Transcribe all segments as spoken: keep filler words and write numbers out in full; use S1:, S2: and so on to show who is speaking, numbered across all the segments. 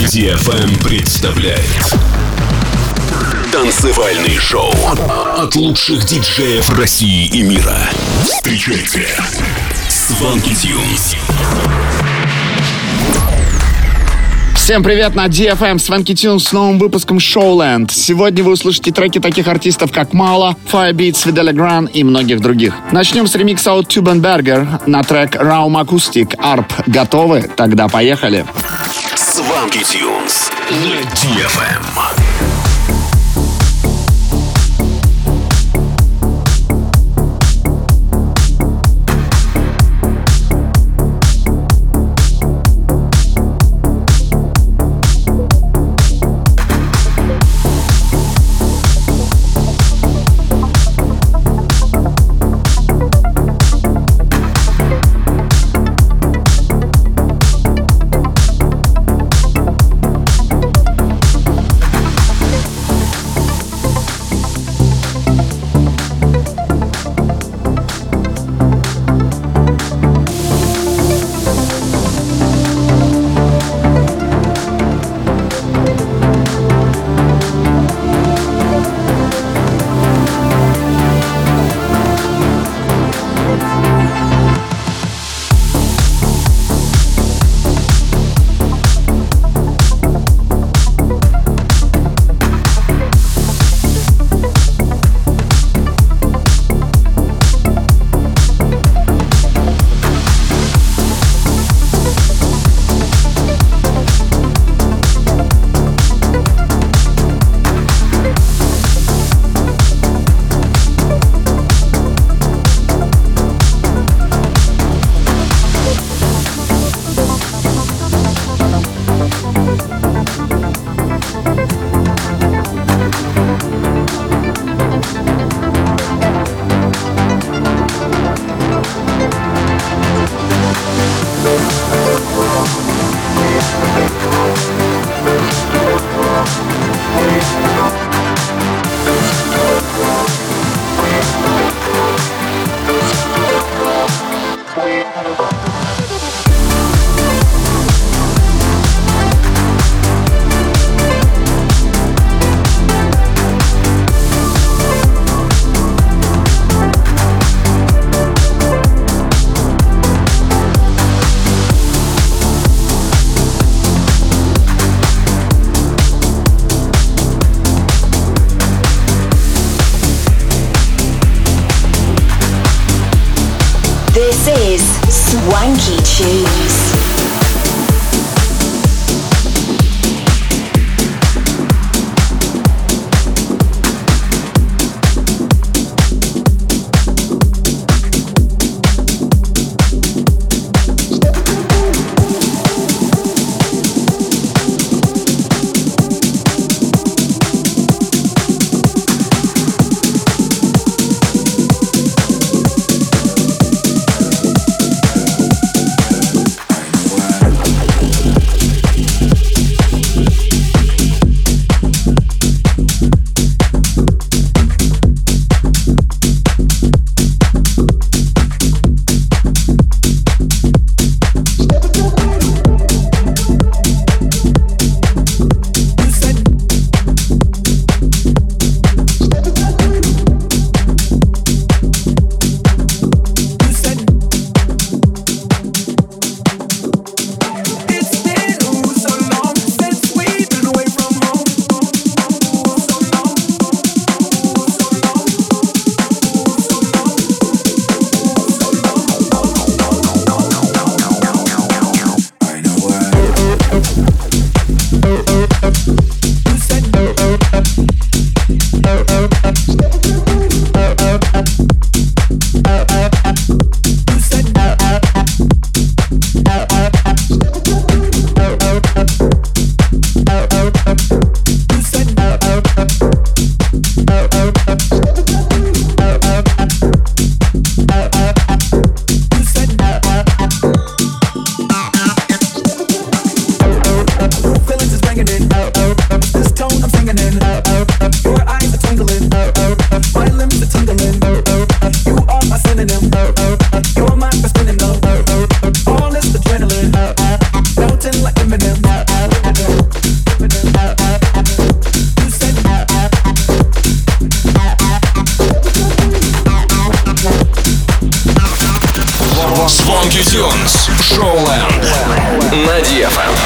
S1: ди эф эм представляет танцевальный шоу от лучших диджеев России и мира. Встречайте Swanky Tunes.
S2: Всем привет на ди эф эм Swanky Tunes с новым выпуском Showland. Сегодня вы услышите треки таких артистов, как Мало, Firebeatz, Vidal Legrand и многих других. Начнем с ремикса от Tubenberger на трек Raum Acoustic Arp. Готовы? Тогда поехали.
S1: Swanky Tunes на ди эф эм.
S3: This is Swanky Tunes.
S1: Showland на ди эф эм.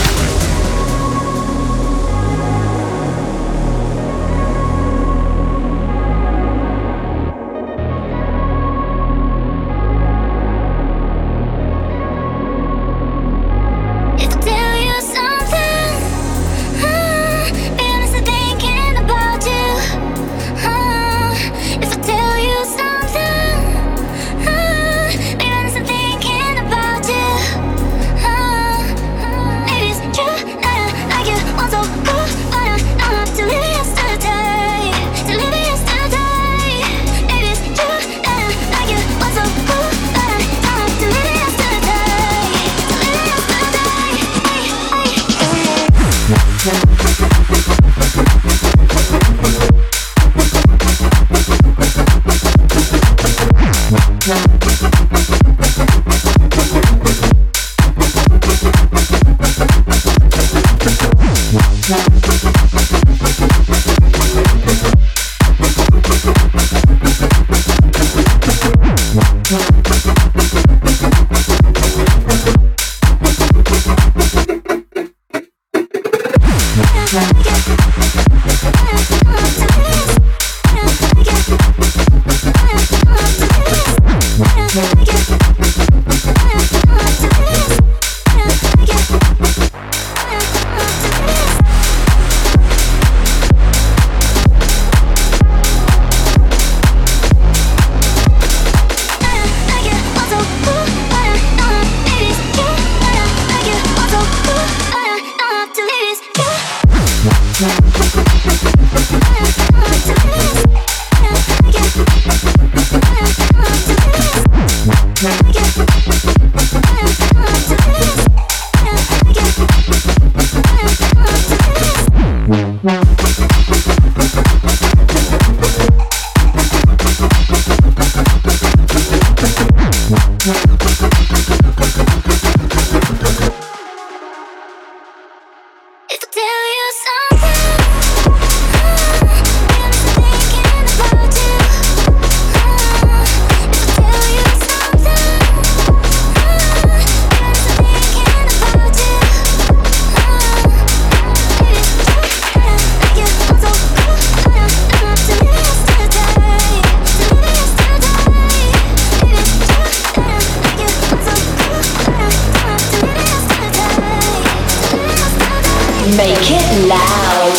S3: Make it loud.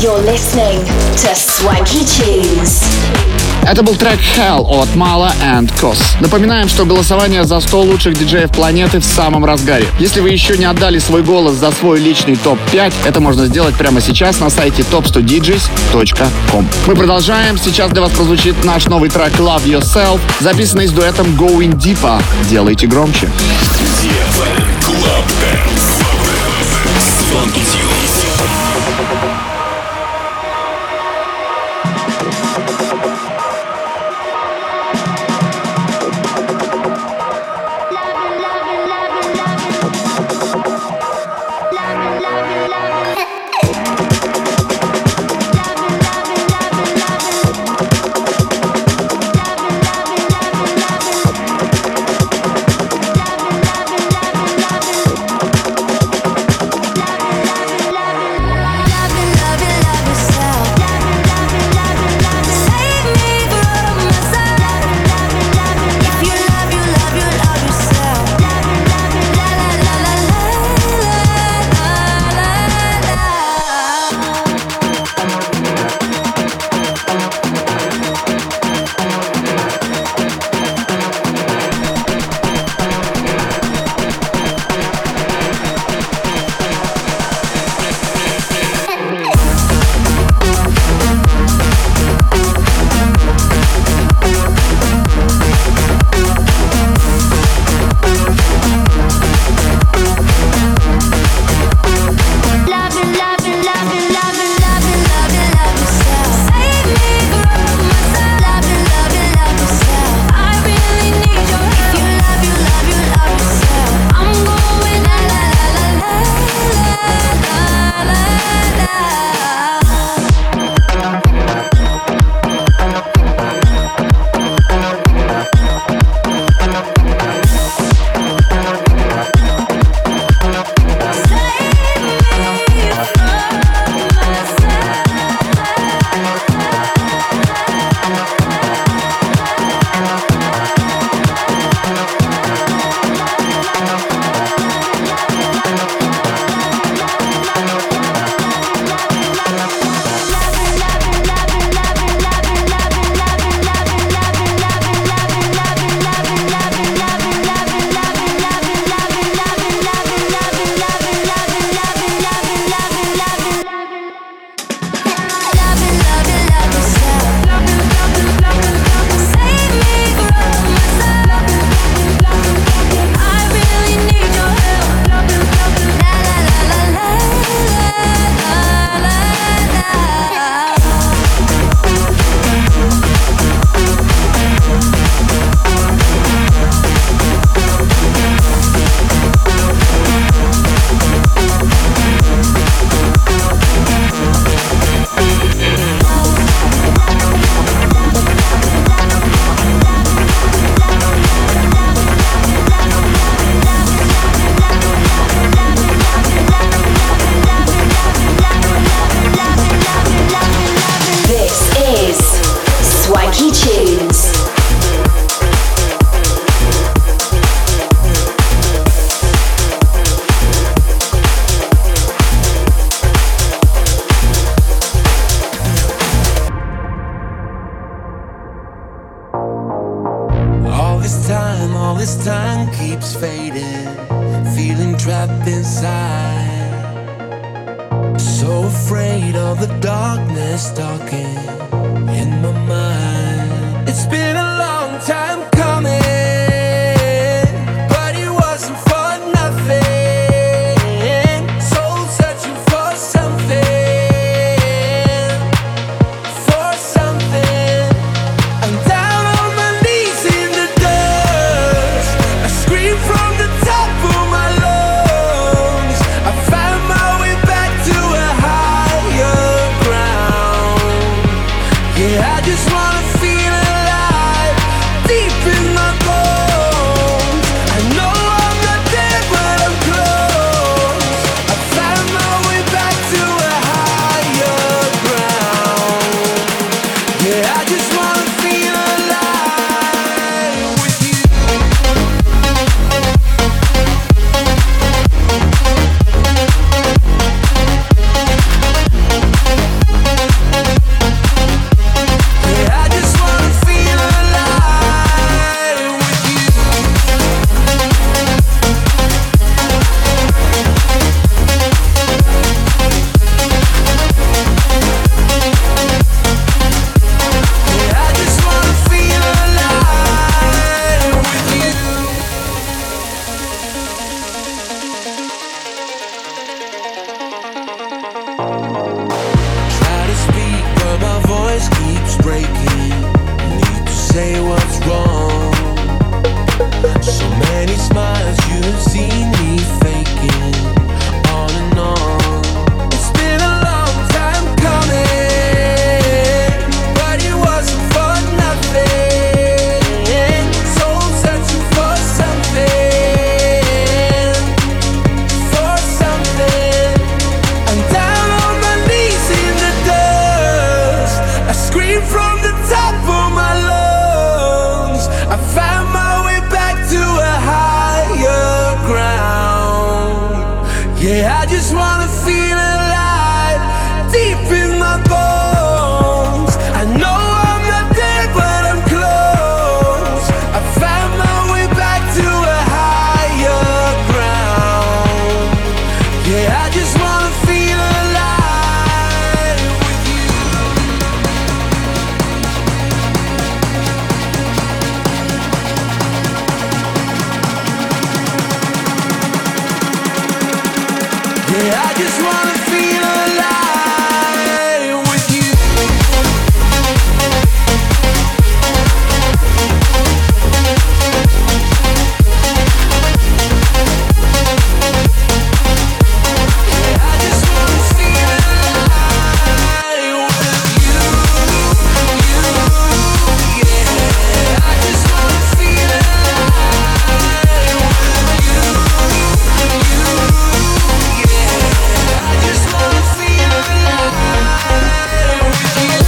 S3: You're listening to Swanky Tunes.
S2: Это был трек Hell от Mala and Cos. Напоминаем, что голосование за сто лучших диджеев планеты в самом разгаре. Если вы еще не отдали свой голос за свой личный топ пять, это можно сделать прямо сейчас на сайте топ сто диджейс точка ком. Мы продолжаем. Сейчас для вас прозвучит наш новый трек Love Yourself, записанный с дуэтом Going Deeper. Делайте громче.
S1: ди эф эм Club Dance. Swanky Tunes.
S4: I just wanna feel alive. Yeah, I just wanna feel alive, deep in my bones. I know I'm not there, but I'm close. I found my way back to a higher ground. Yeah, I just wanna feel alive with you. Yeah, I just wanna feel alive with you. Yeah, I just wanna feel alive with you. You, yeah, I just wanna feel alive with you. You, yeah, I just wanna feel alive with you.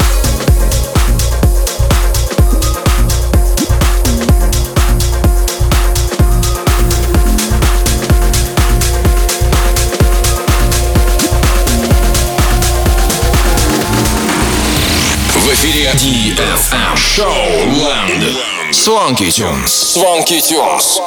S1: В эфире ди эф эм Showland. Swanky Tunes. Swanky Tunes.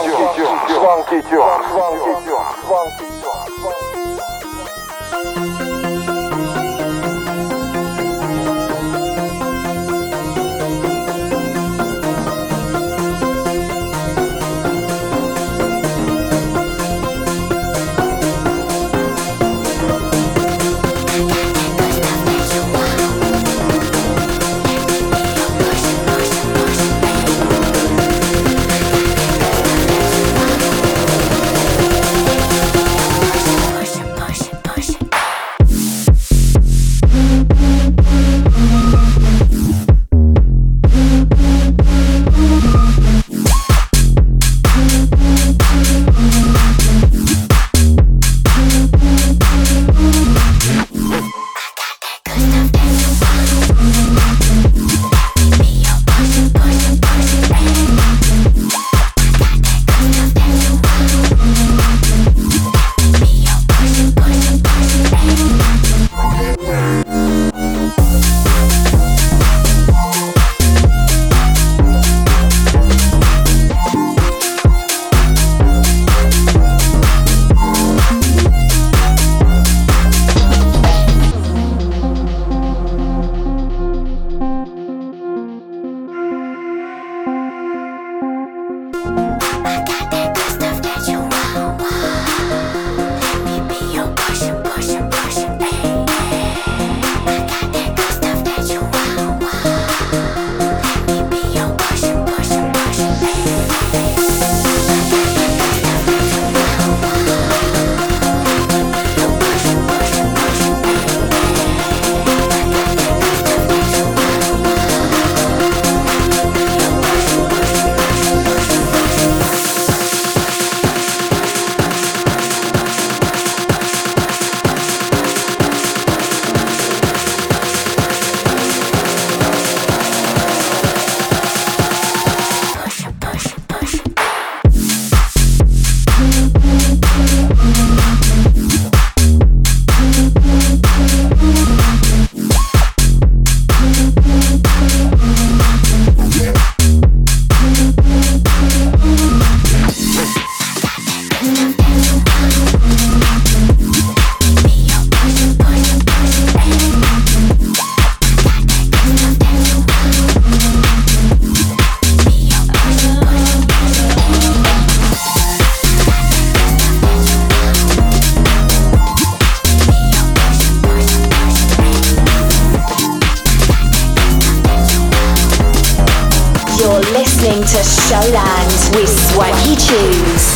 S3: listening to Showland with Swanky Tunes.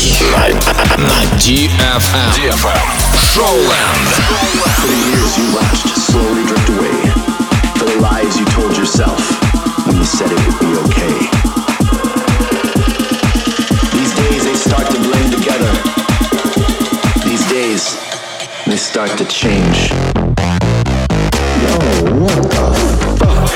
S1: на ди эф эм. ди эф эм. Showland.
S5: For the years you watched slowly drift away. For the lies you told yourself when you said it would be okay. These days they start to blend together. These days they start to change. Yo, what the fuck?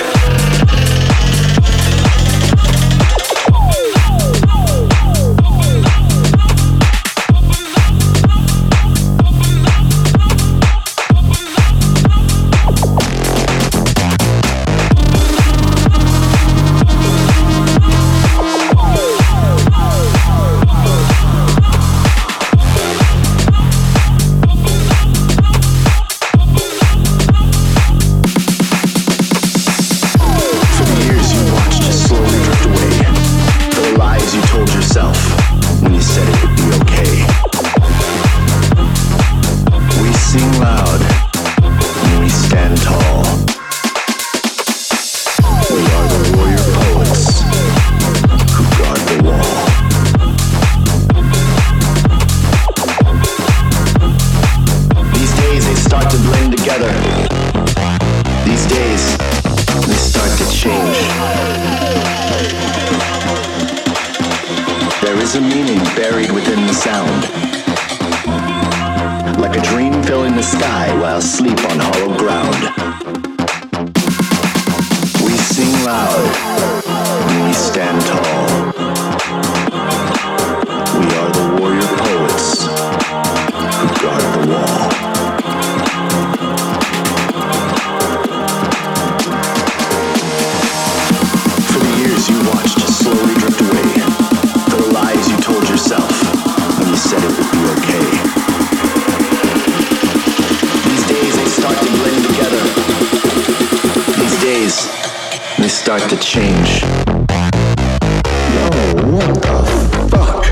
S5: Start to change. Yo, what the fuck?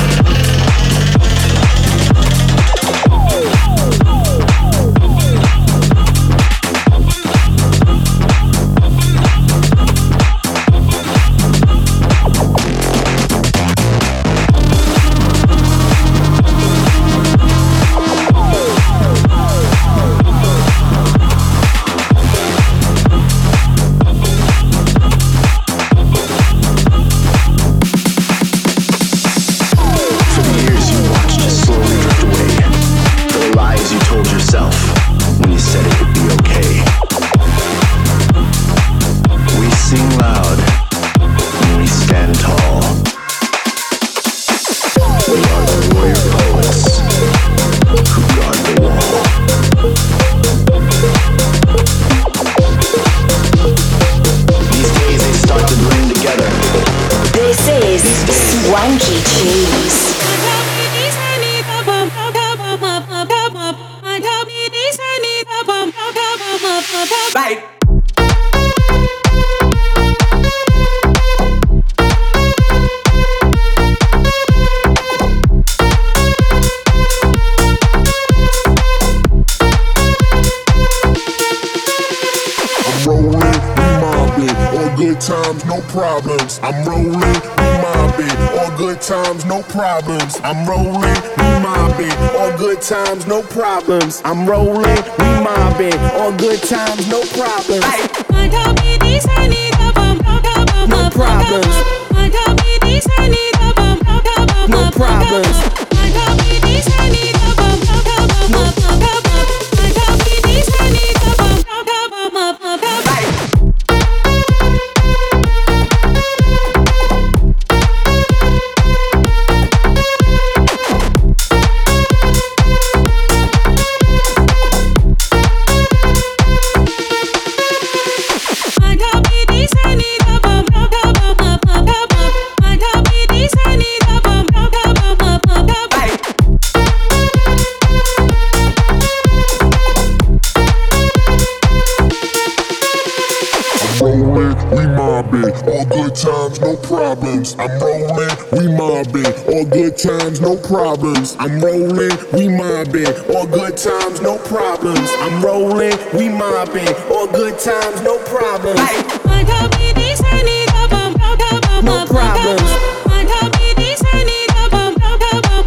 S6: I'm rolling, we mobbing, all good times, no problems. I'm rolling, we mobbing, all good times, no problems. I'm rolling, we mobbing, all good times, no problems. No problems. No problems. I'm rolling, we mobbing, all good times, no problems. I'm rolling, we mobbing, all good times, no problems. I'm rolling, we mobbing, all good times, no problems. No problems.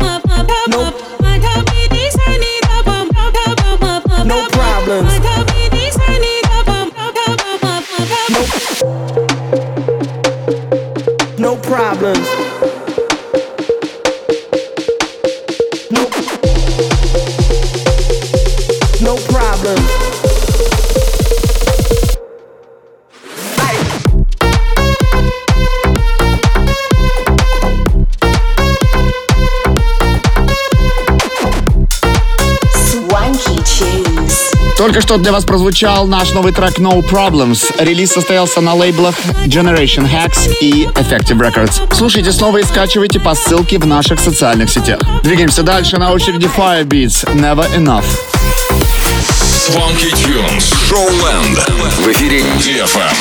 S2: Только что для вас прозвучал наш новый трек No Problems. Релиз состоялся на лейблах Generation Hacks и Effective Records. Слушайте снова и скачивайте по ссылке в наших социальных сетях. Двигаемся дальше. На очереди Firebeats Never Enough.
S1: Swanky Tunes Showland в эфире ди эф эм.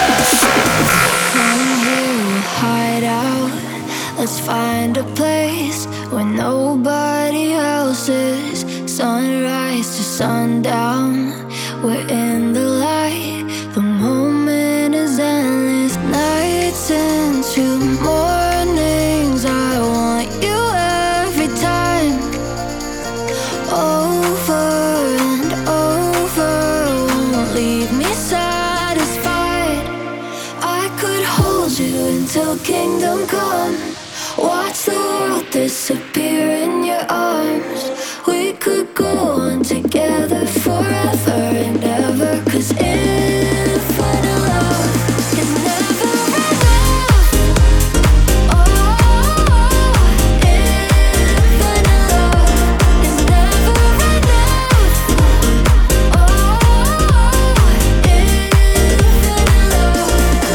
S7: Let's find a place where nobody else is. Sunrise to sundown, we're in the light. The moment is endless. Nights into mornings, I want you every time. Over and over, won't leave me satisfied. I could hold you until kingdom come. Watch the world disappear in your arms. We could go on together forever and ever. Cause infinite love is never enough. Oh, infinite love is never enough. Oh, infinite love.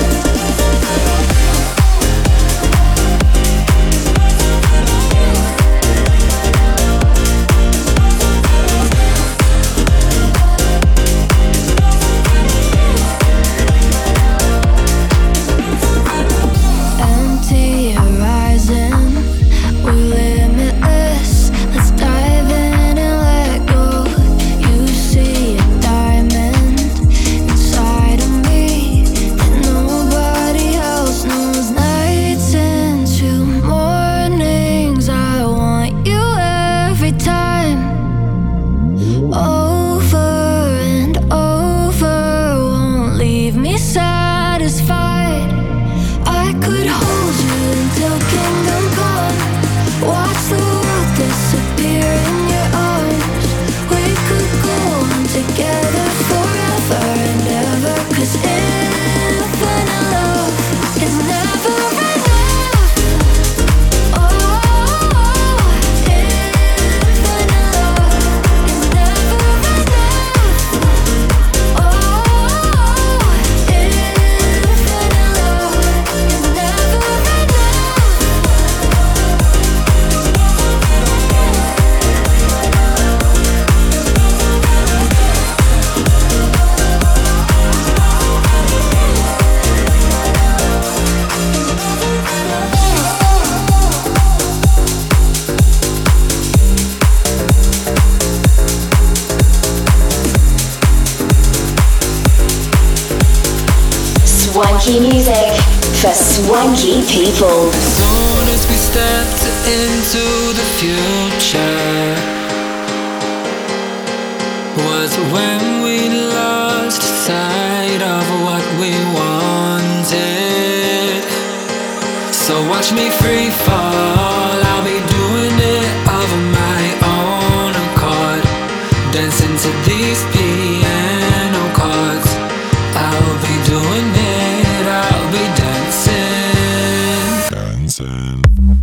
S3: Swanky music for swanky people.
S8: As soon as we stepped into the future was when we lost sight of what we wanted. So watch me free fall, I'll be doing it of my own accord. Dancing to these piano chords, I'll be doing it, I'll be dancing. Dancing.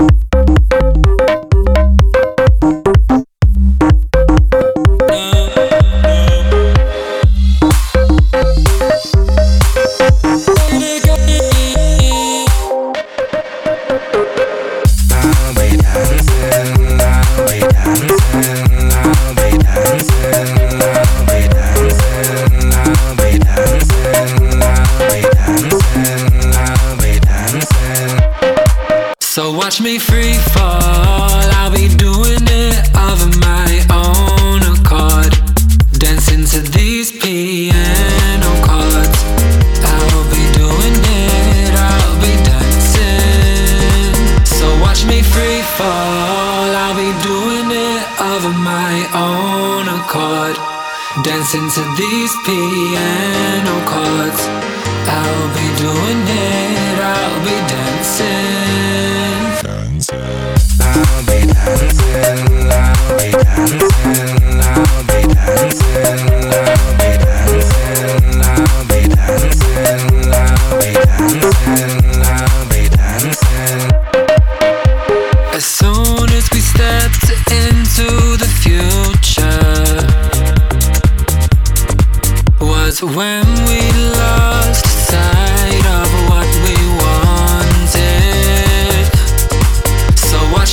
S8: Watch me free fall, I'll be doing it of my own accord. Dancing to these piano chords, I'll be doing it, I'll be dancing. So watch me free fall, I'll be doing it of my own accord. Dancing to these piano chords, I'll be doing it, I'll be dancing. I'll be dancing, I'll be dancing, I'll be dancing, I'll be dancing, I'll be dancing, I'll be dancing, I'll be dancing. As soon as we stepped into the future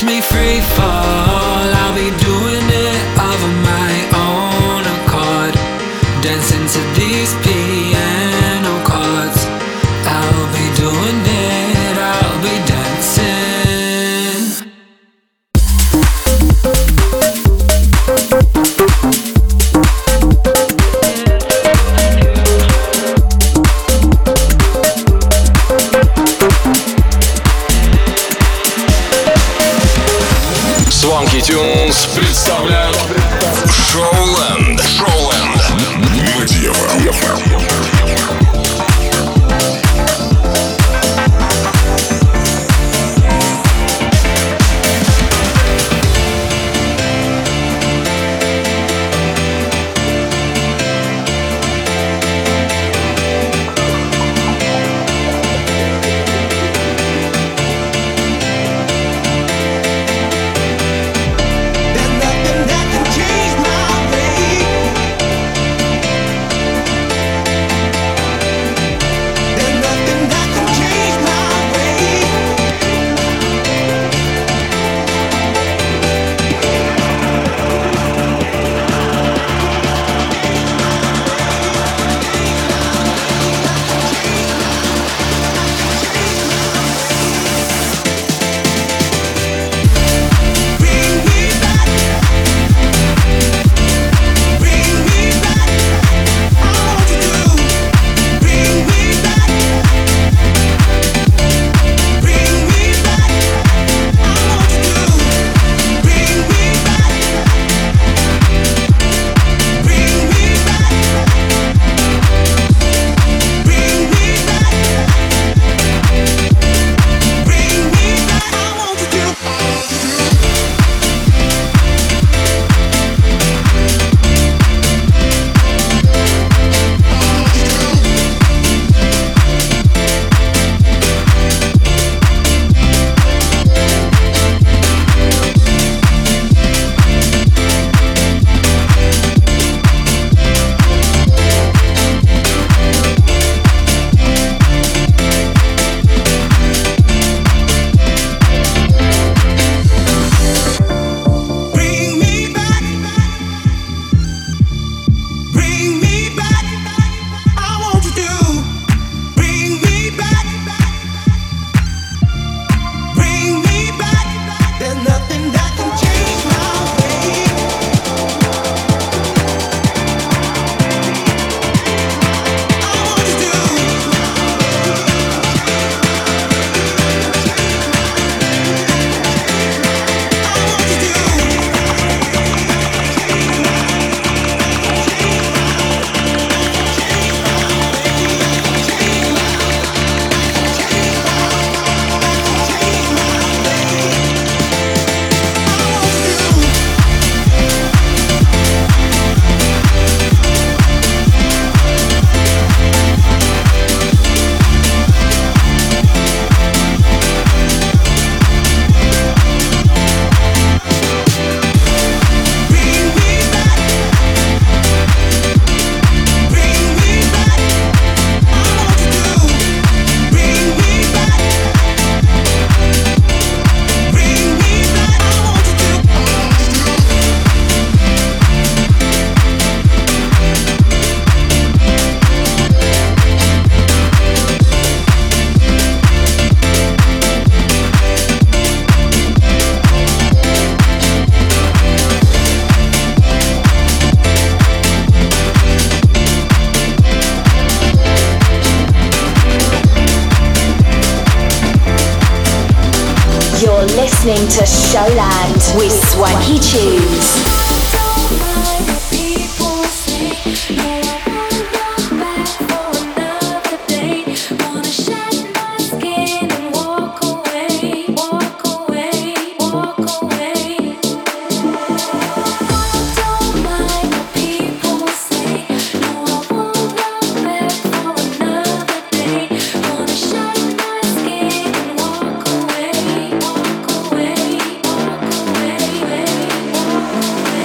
S8: me free fall. I'll be doing it of my own accord, dancing to these piano chords. I'll be doing it, I'll be dancing.
S1: Swanky Tunes представляют Showland. Showland на ди эф эм.
S3: listening to Showland with Swanky Tunes.
S7: Away.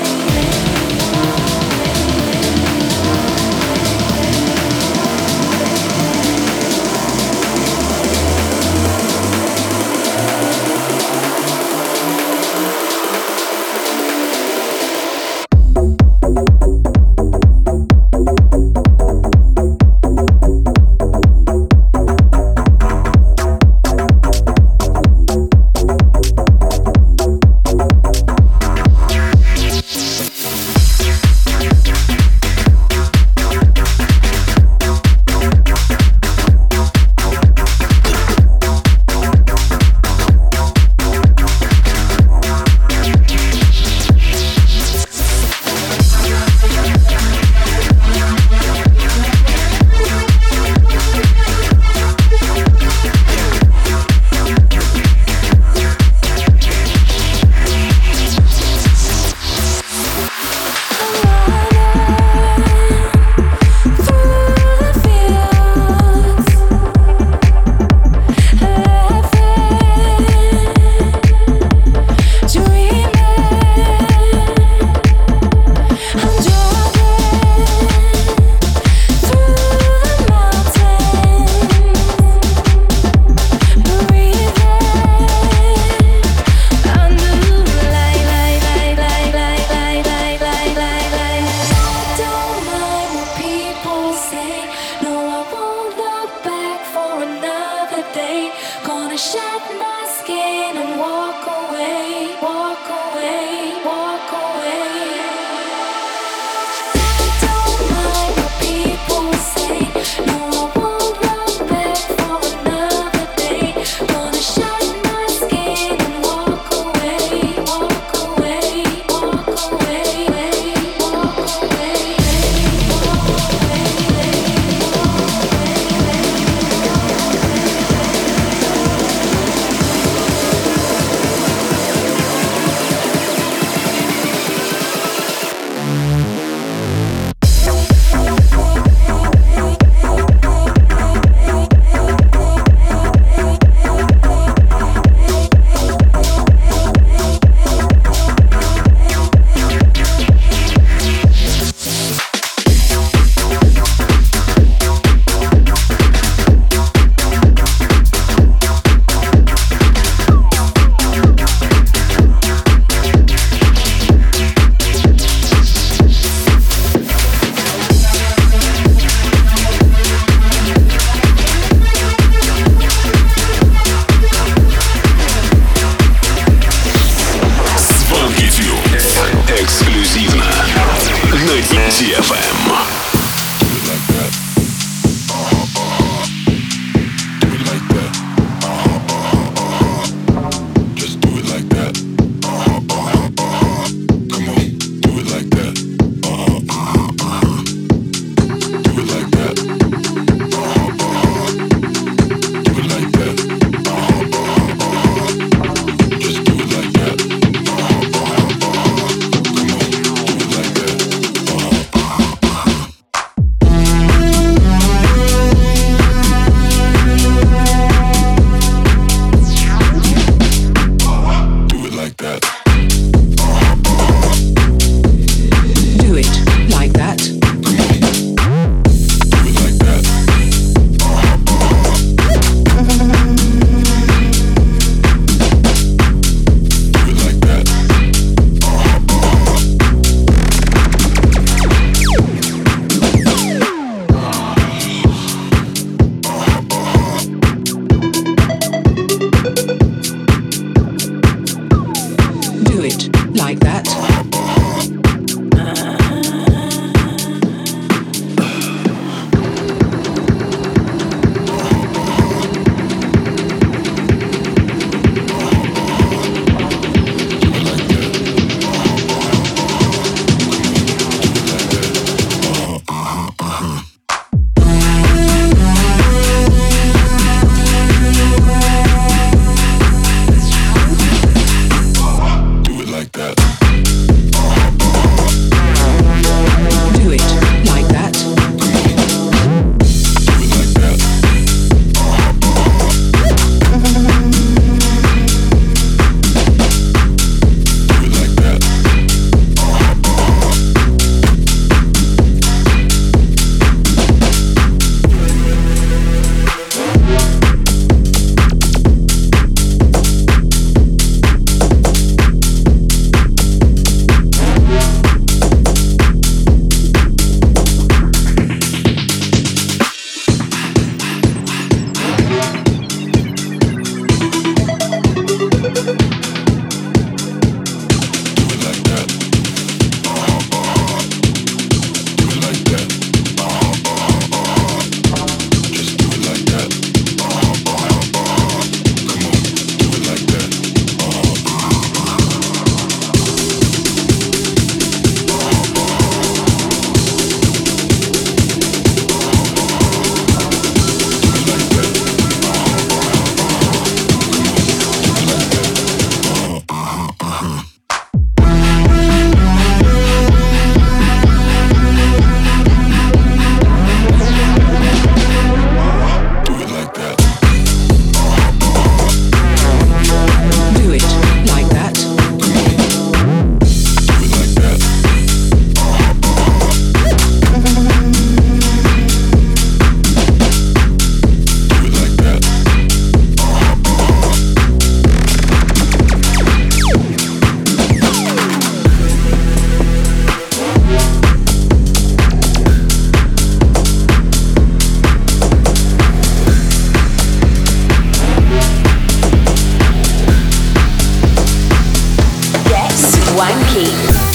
S3: Swanky.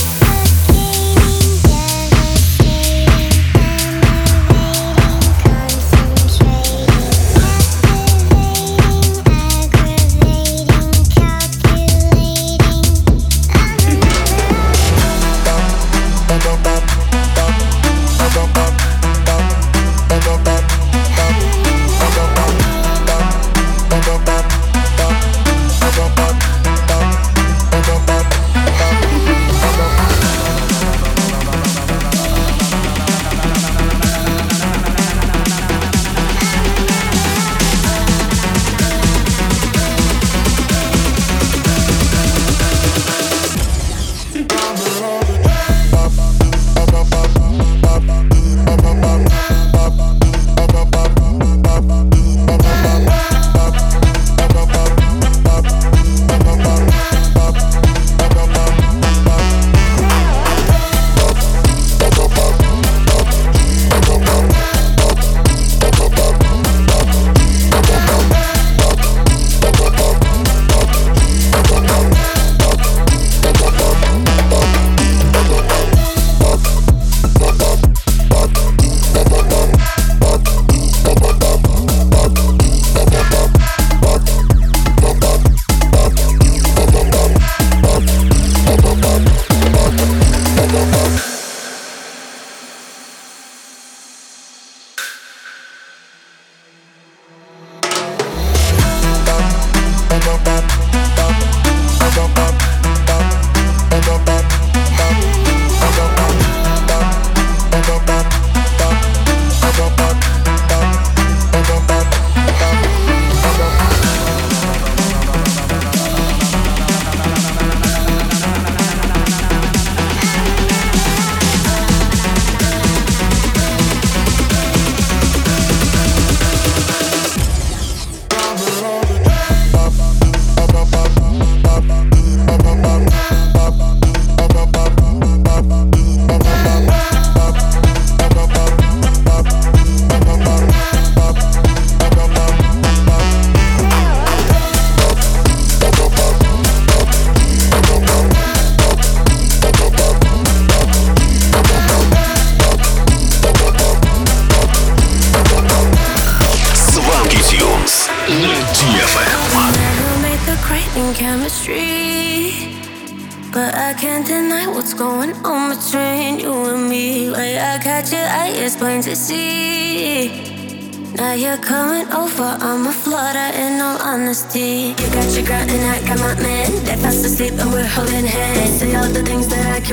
S7: But I can't deny what's going on between you and me. Like I catch your eye, it's plain to see. Now you're coming over, I'm a flutter in all honesty. You got your girl and I got my man. They're fast asleep and we're holding hands. Say all the things that I can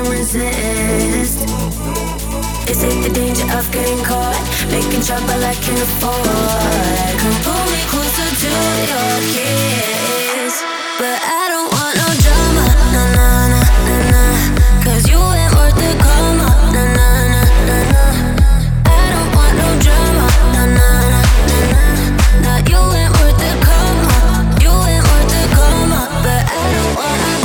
S7: resist. Is it the danger of getting caught? Making trouble I can afford. Come pull me closer to your kiss. But I don't want no drama, nah nah nah nah nah. Cause you ain't worth the karma, nah nah nah nah nah. I don't want no drama, nah nah nah nah nah. Nah, you ain't worth the karma, you ain't worth the karma. But I don't want no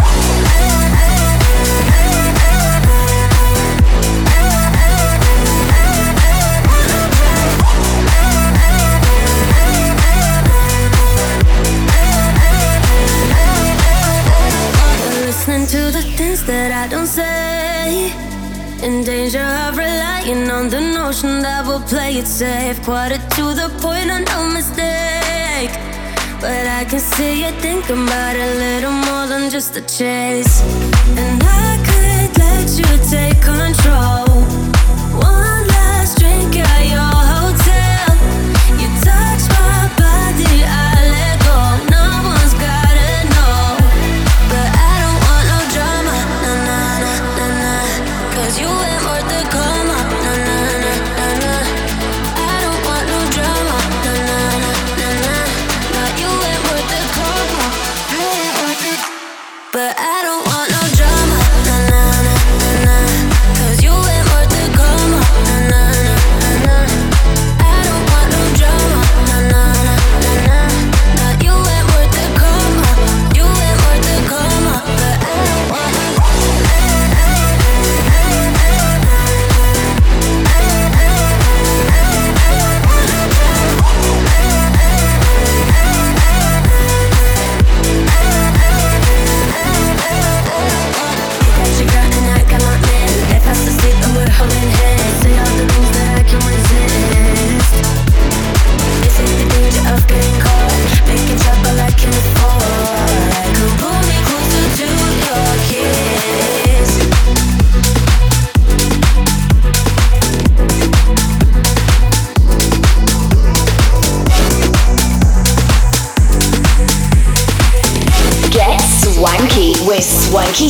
S7: listening to the things that I don't say. In danger of relying on the notion that we'll play it safe. Quarter to the point, on no mistake. But I can see you thinking about a little more than just a chase. And I could let you take control. One last drink at your hotel. You touch my body, I let go. No one's gotta know. But I don't want no drama, nah nah nah nah nah. Cause you ain't worth the karma, nah nah nah nah nah. I don't want no drama, nah nah nah nah nah. Nah, you ain't worth the karma, you ain't worth it. But I don't want no drama.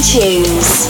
S3: Tunes.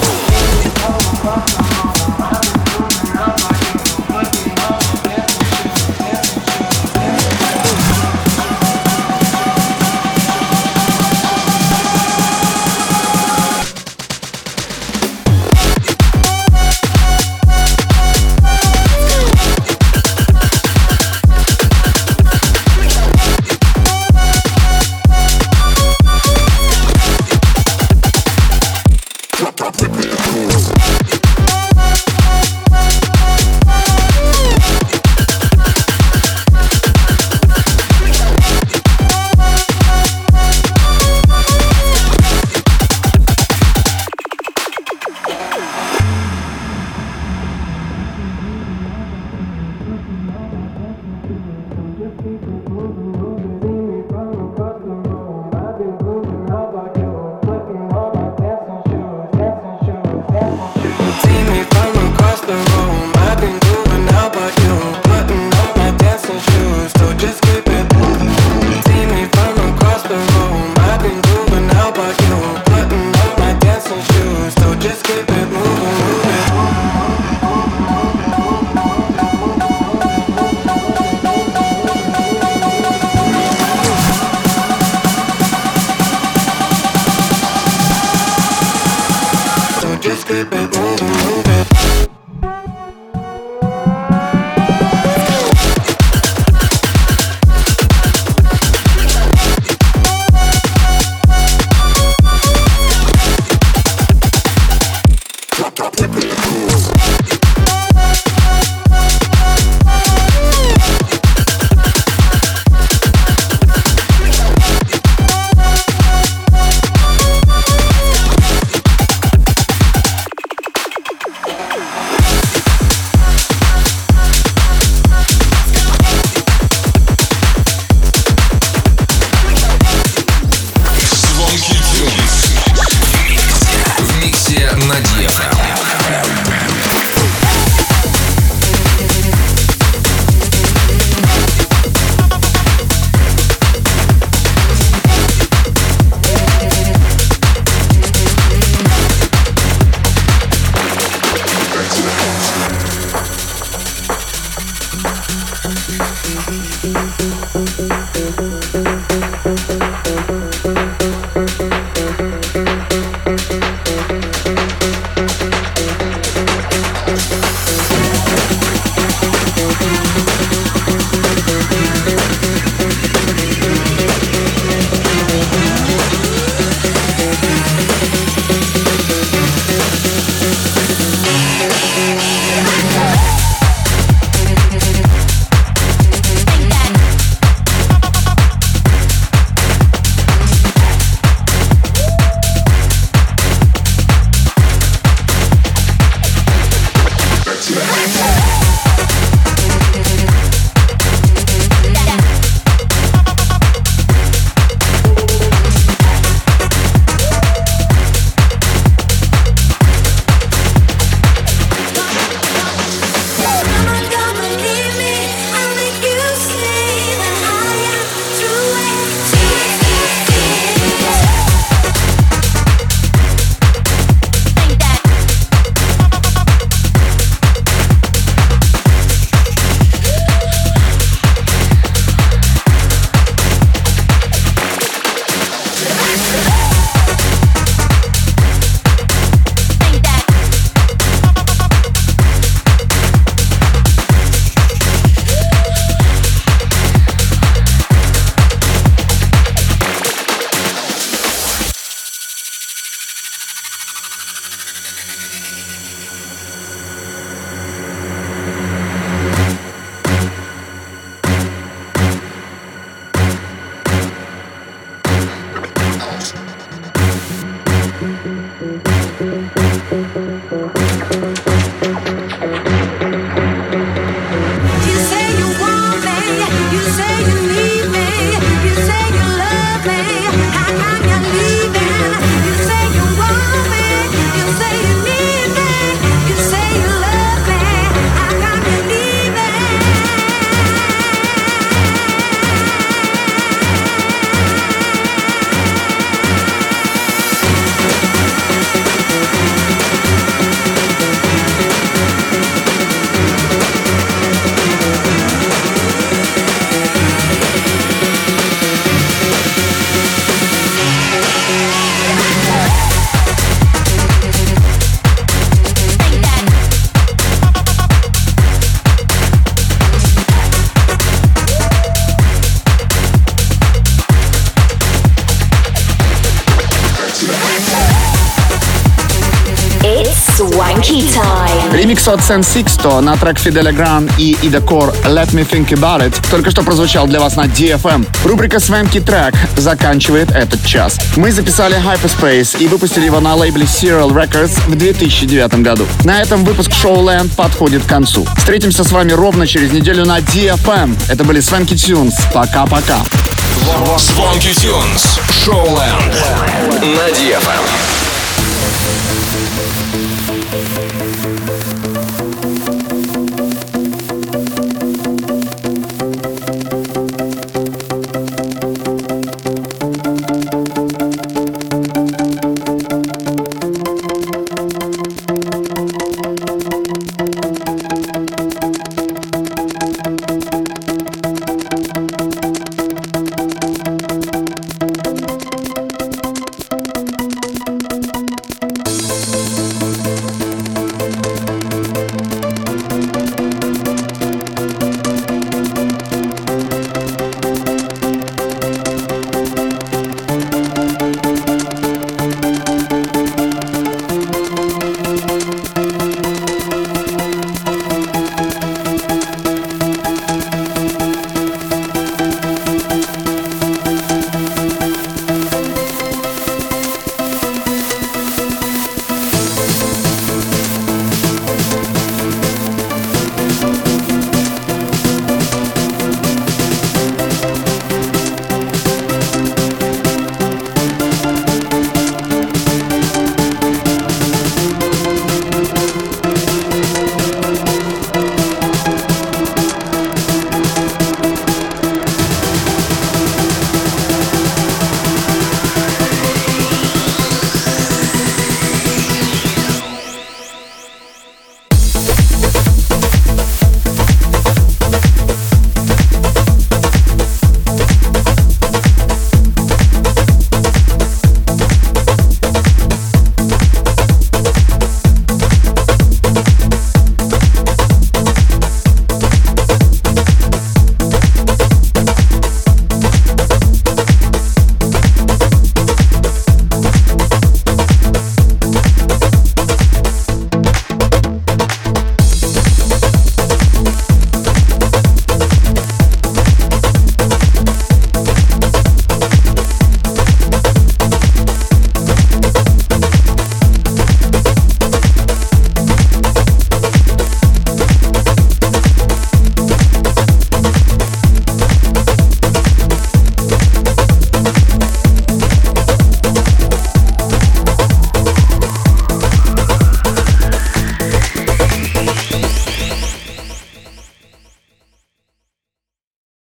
S3: Swanky Time.
S2: Ремикс от Sen Sixto на трек Фиделя Гран и Ида Кор «Let Me Think About It» только что прозвучал для вас на ди эф эм. Рубрика «Swanky Track» заканчивает этот час. Мы записали Hyperspace и выпустили его на лейбле Serial Records в две тысячи девятом году. На этом выпуск Showland подходит к концу. Встретимся с вами ровно через неделю на ди эф эм. Это были Swanky Tunes. Пока-пока.
S1: Swanky Tunes. Showland. На ди эф эм.